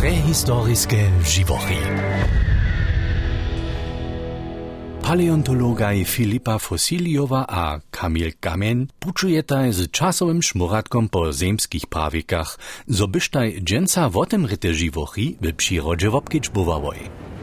Prehistorijske živochy. Paleontologaj Filipa Fosilijowa a Kamil Kamen pučujetaj z časowym šmuratkom po zemskich prawikach, zo byštaj dženca wotem ryte živochy w przyrodzie wobkić buvavoj.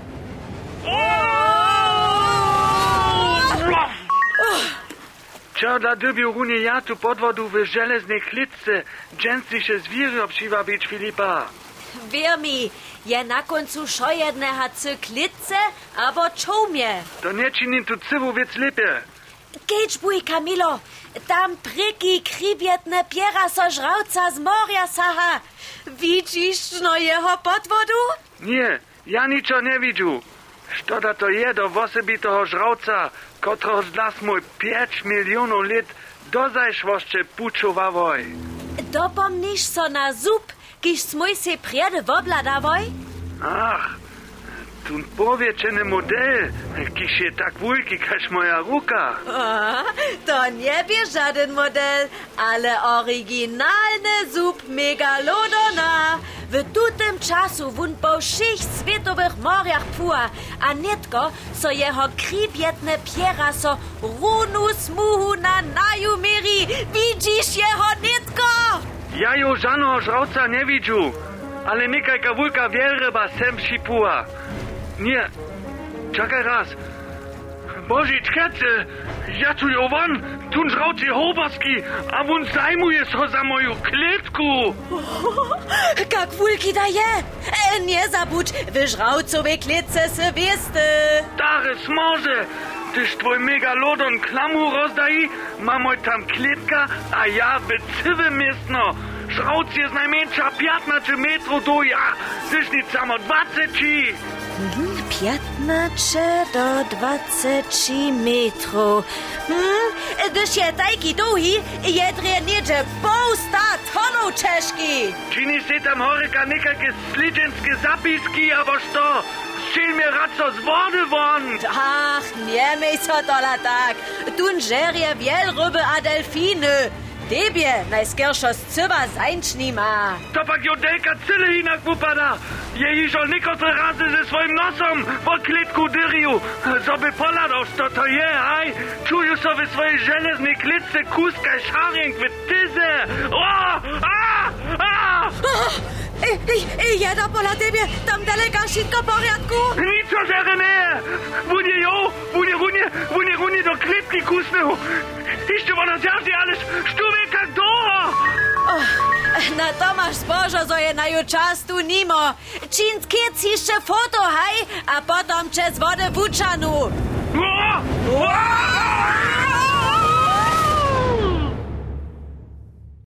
Čo da dobił runie ja tu podwodu w żeleznej klitce, dżęslisze zwiery obszywa być Filipa. Wär mi, je na koncu šo jedneha cyklice, abo čoumje. To nie czyni tu cywu wiec lepiej. Gejdź buj, Kamilo, tam pryki kribietne piera so żrauca z morja saha. Widzisz no jeho podwodu? Nie, ja niczo nie widzę. Što to je do osobitego żrauca, kotro z nas mój 5 milionów lat dozajszwoszcze puczowawoj. Dopomnisz so na zub, kiž smoj se priede wobladawoj? Ach, tun powieczeny model, kiż je tak wulki, każ moja ruka. A, to nie bie żaden model, ale oryginalny zub megalodona. W tutem czasu wun po všich svetowych morjach pua, a netko so jeho kribietne piera so runu smuhu na naju meri. Widzisz jeho netko? Ja jo żadnego żrauca nie widzę, ale niekajka wulka wielryba sem šipua. Nie, czekaj raz. Boži, czekajcie, ja tu jo won, tun żrauc je hoberski, a wun zajmuje so za moju klitku. Kak wulki da je? Nie zabudź, w żraucowej klitce se wieste. Dare smoże, tyż twój megalodon klamu rozdaji, ma moj tam klitka, a ja wycywy miestno. Żrauc jest najmniejsza 15 metrów do ja, tyż nic samo 20. 15 do 20 metrów. Gdyż je tajki długi, je niedzie pół 100 tonów czeszki. Čini se tam horeka nekakve sličenske zapiski, abo što? Šel mi raco z vody von. Ach, nie mej so tola tak. Tun žerje wielryby a delfiny. Tebie najskierszo z cyba zańczni ma. To pak jodelka cyle inak upada. Je iżo niekotre razy ze swoim nosom po klitku dyrju. Zoby poladał, to je, haj. Czuju sobie swojej żeleznej klitce kuska szarink w tyze. Jeda pola tebie, tam daleka wszystko w porządku? Nic o żere nie. Wunie runie do klitki kusnął. Jeszcze ona zjażdżi, ależ sztuwieka do. Na to masz zbożo, zo je na jučas tu nimo. Čin skic jeszcze foto, haj, a potom čez wodę wučanu.